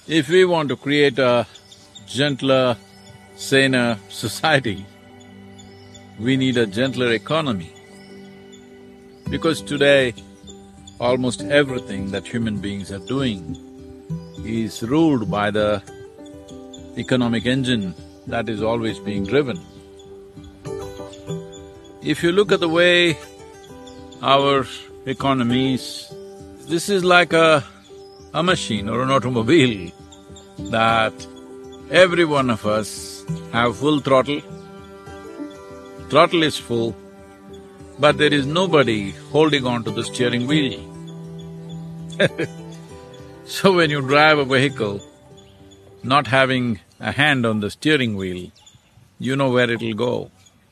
If we want to create a gentler, saner society, we need a gentler economy. Because today, almost everything that human beings are doing is ruled by the economic engine that is always being driven. If you look at the way our economy is, this is like a machine or an automobile that every one of us have full throttle. Throttle is full, but there is nobody holding on to the steering wheel. So when you drive a vehicle, not having a hand on the steering wheel, you know where it'll go.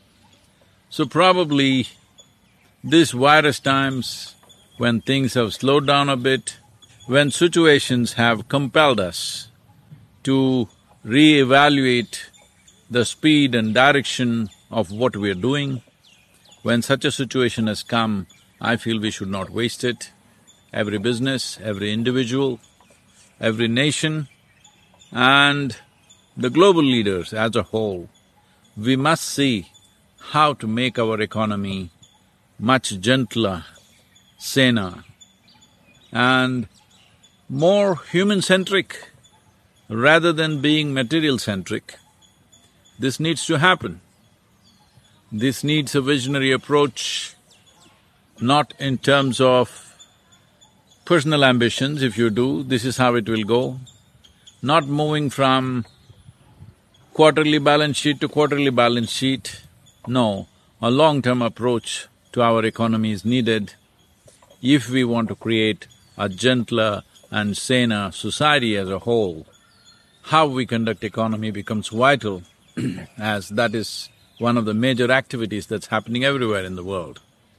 So probably this virus times, when things have slowed down a bit, when situations have compelled us to re-evaluate the speed and direction of what we're doing, when such a situation has come, I feel we should not waste it. Every business, every individual, every nation and the global leaders as a whole, we must see how to make our economy much gentler, saner and more human-centric rather than being material-centric. This needs to happen. This needs a visionary approach, not in terms of personal ambitions. If you do, this is how it will go. Not moving from quarterly balance sheet to quarterly balance sheet. No, a long-term approach to our economy is needed if we want to create a gentler and saner society as a whole. How we conduct economy becomes vital as that is one of the major activities that's happening everywhere in the world.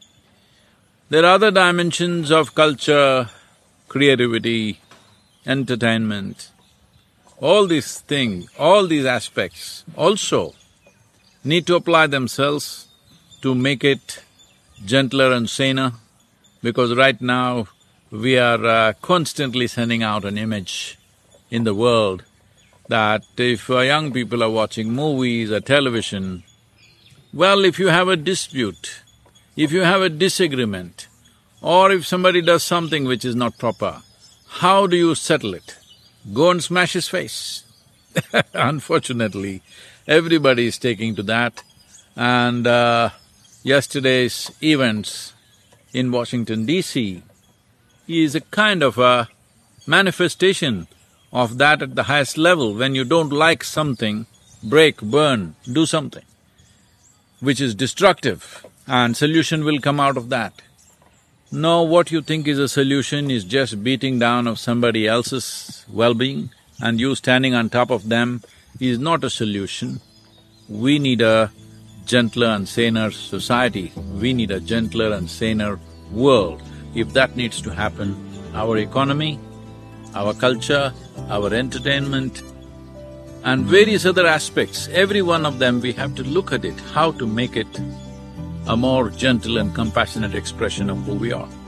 There are other dimensions of culture, creativity, entertainment. All these things, all these aspects also need to apply themselves to make it gentler and saner, because right now we are constantly sending out an image in the world that if young people are watching movies or television, well, if you have a dispute, if you have a disagreement, or if somebody does something which is not proper, how do you settle it? Go and smash his face. Unfortunately, everybody is taking to that, and yesterday's events in Washington, D.C. is a kind of a manifestation of that at the highest level. When you don't like something, break, burn, do something which is destructive, and solution will come out of that. No, what you think is a solution is just beating down of somebody else's well-being, and you standing on top of them is not a solution. We need a gentler and saner society. We need a gentler and saner world. If that needs to happen, our economy, our culture, our entertainment and various other aspects, every one of them we have to look at it, how to make it a more gentle and compassionate expression of who we are.